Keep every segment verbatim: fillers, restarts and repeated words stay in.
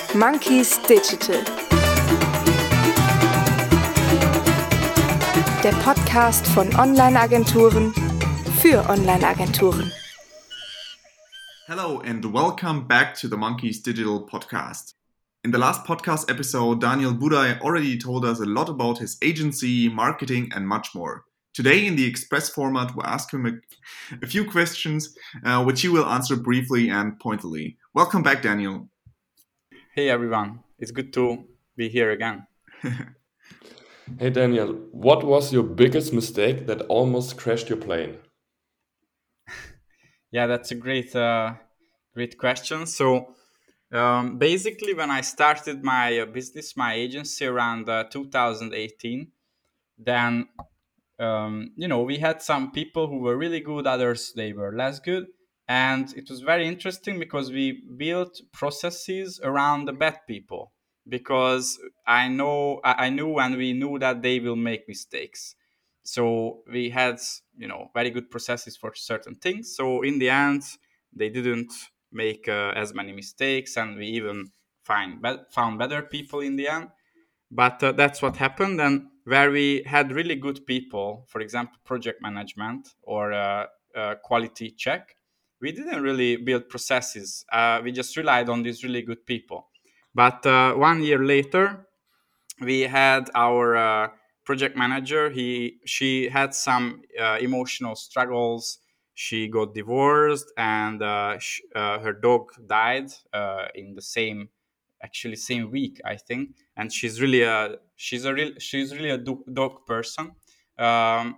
Monkeys Digital. Der Podcast von Online-Agenturen für Online-Agenturen. Hello and welcome back to the Monkeys Digital podcast. In the last podcast episode, Daniel Budaj already told us a lot about his agency, marketing, and much more. Today, in the Express format, we'll ask him a, a few questions, uh, which he will answer briefly and pointedly. Welcome back, Daniel. Hey everyone, it's good to be here again. Hey Daniel, what was your biggest mistake that almost crashed your plane? Yeah, that's a great, uh, great question. So, um, basically, when I started my uh, business, my agency around uh, two thousand eighteen, then um, you know we had some people who were really good, others they were less good, and it was very interesting because we built processes around the bad people. Because I know I I knew and we knew that they will make mistakes. So we had, you know, very good processes for certain things. So in the end, they didn't make uh, as many mistakes, and we even find be- found better people in the end. But uh, that's what happened. And where we had really good people, for example, project management or uh, uh, quality check, we didn't really build processes. Uh, we just relied on these really good people. But uh, one year later, we had our uh, project manager. He she had some uh, emotional struggles. She got divorced, and uh, sh- uh, her dog died uh, in the same, actually same week, I think. And she's really a she's a real she's really a do- dog person. Um,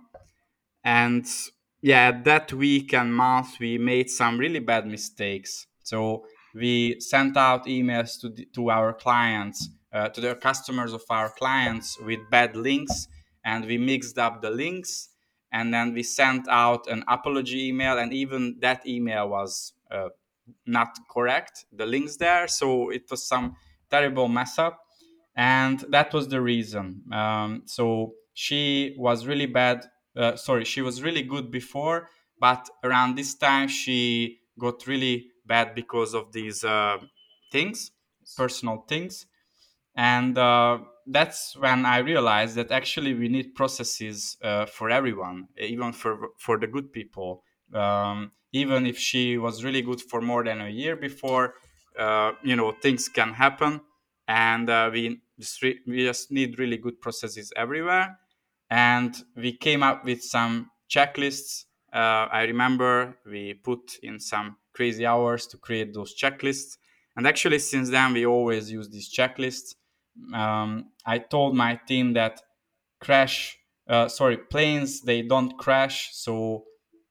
and yeah, that week and month we made some really bad mistakes. So we sent out emails to the, to our clients, uh, to the customers of our clients with bad links, and we mixed up the links, and then we sent out an apology email, and even that email was uh, not correct, the links there. So it was some terrible mess up, and that was the reason. Um, so she was really bad. Uh, sorry, she was really good before, but around this time she got really bad because of these uh, things, personal things. And uh, that's when I realized that actually we need processes uh, for everyone, even for for the good people. Um, even if she was really good for more than a year before, uh, you know, things can happen, and uh, we just re- we just need really good processes everywhere. And we came up with some checklists. Uh, I remember we put in some crazy hours to create those checklists, and actually since then we always use these checklists. um, I told my team that crash, uh, sorry, planes, they don't crash. So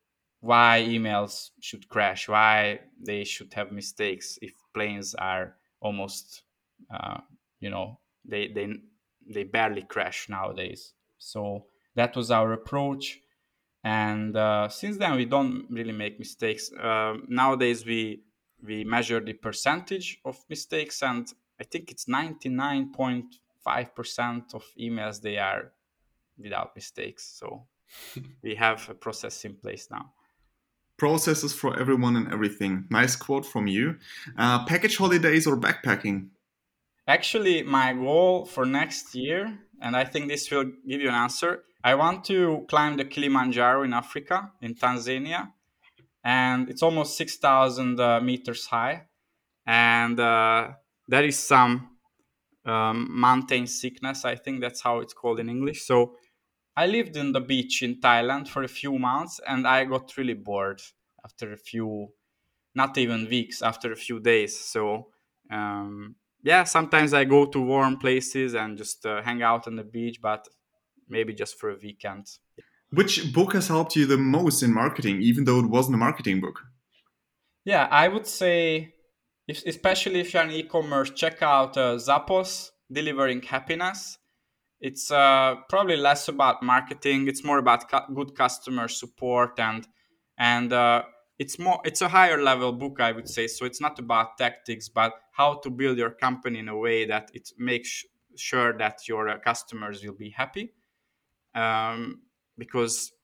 why emails should crash? Why they should have mistakes if planes are almost, uh, you know, they they they barely crash nowadays. So that was our approach, and uh, since then we don't really make mistakes. Uh, nowadays we we measure the percentage of mistakes, and I think it's ninety-nine point five percent of emails they are without mistakes. So we have a process in place now. Processes for everyone and everything. Nice quote from you. Uh, package holidays or backpacking? Actually, my goal for next year, and I think this will give you an answer, I want to climb the Kilimanjaro in Africa, in Tanzania, and it's almost six thousand uh, meters high. And uh, there is some um, mountain sickness. I think that's how it's called in English. So I lived in the beach in Thailand for a few months, and I got really bored after a few, not even weeks, after a few days. So um, yeah, sometimes I go to warm places and just uh, hang out on the beach, but maybe just for a weekend. Which book has helped you the most in marketing, even though it wasn't a marketing book? Yeah, I would say, if, especially if you're an e-commerce, check out uh, Zappos, Delivering Happiness. It's uh, probably less about marketing. It's more about cu- good customer support, and and uh, it's more it's a higher level book, I would say. So it's not about tactics, but how to build your company in a way that it makes sure that your uh, customers will be happy. Um, because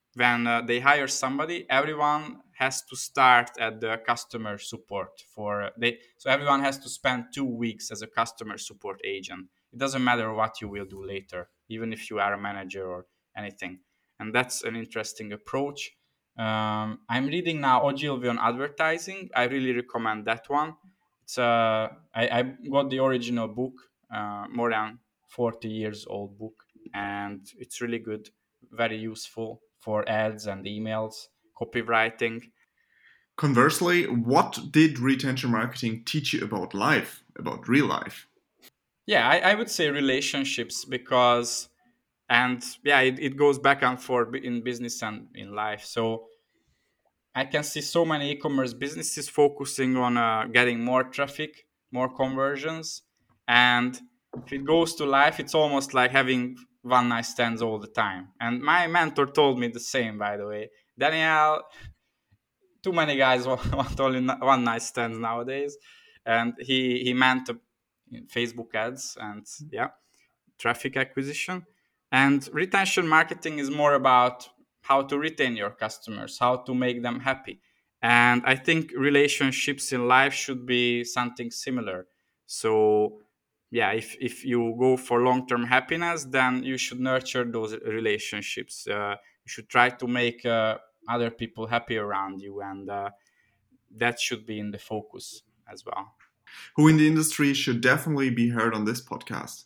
when uh, they hire somebody, everyone has to start at the customer support for uh, they. So everyone has to spend two weeks as a customer support agent. It doesn't matter what you will do later, even if you are a manager or anything. And that's an interesting approach. Um, I'm reading now Ogilvy on advertising. I really recommend that one. It's uh, I, I got the original book, uh, more than forty years old book, and it's really good, very useful for ads and emails, copywriting. Conversely, what did retention marketing teach you about life, about real life? Yeah, I, I would say relationships, because, and yeah, it, it goes back and forth in business and in life. So I can see so many e-commerce businesses focusing on uh, getting more traffic, more conversions, and if it goes to life, it's almost like having one night stands all the time. And my mentor told me the same, by the way. Daniel, too many guys want only one night stands nowadays, and he he meant Facebook ads and yeah, traffic acquisition. And retention marketing is more about how to retain your customers, how to make them happy. And I think relationships in life should be something similar. So yeah, if, if you go for long-term happiness, then you should nurture those relationships. Uh, you should try to make uh, other people happy around you, and uh, that should be in the focus as well. Who in the industry should definitely be heard on this podcast?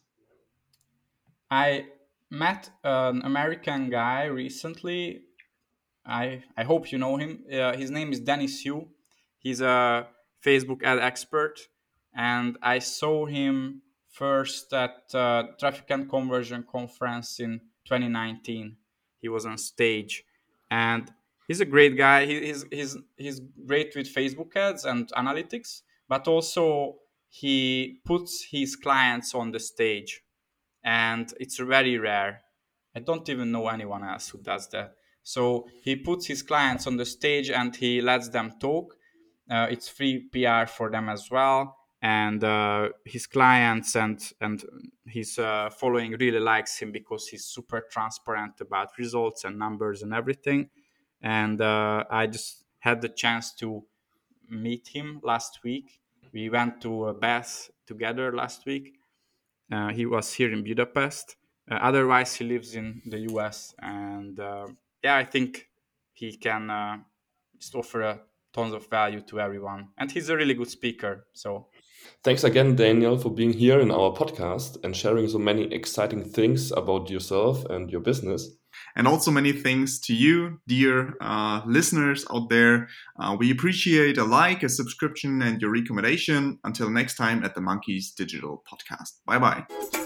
I met an American guy recently. I I hope you know him. Uh, his name is Dennis Yu. He's a Facebook ad expert, and I saw him first at uh, Traffic and Conversion Conference in twenty nineteen. He was on stage, and he's a great guy. He, he's he's he's great with Facebook ads and analytics, but also he puts his clients on the stage, and it's very rare. I don't even know anyone else who does that. So he puts his clients on the stage and he lets them talk. Uh, it's free P R for them as well, and uh, his clients and and his uh, following really likes him because he's super transparent about results and numbers and everything. And uh, I just had the chance to meet him last week. We went to a bath together last week. Uh, he was here in Budapest. Uh, otherwise, he lives in the U S. And uh, yeah, I think he can uh, just offer a tons of value to everyone. And he's a really good speaker. So Thanks again, Daniel, for being here in our podcast and sharing so many exciting things about yourself and your business. And also many thanks to you, dear uh, listeners out there. Uh, we appreciate a like, a subscription, and your recommendation. Until next time at the Monkeys Digital Podcast. Bye-bye.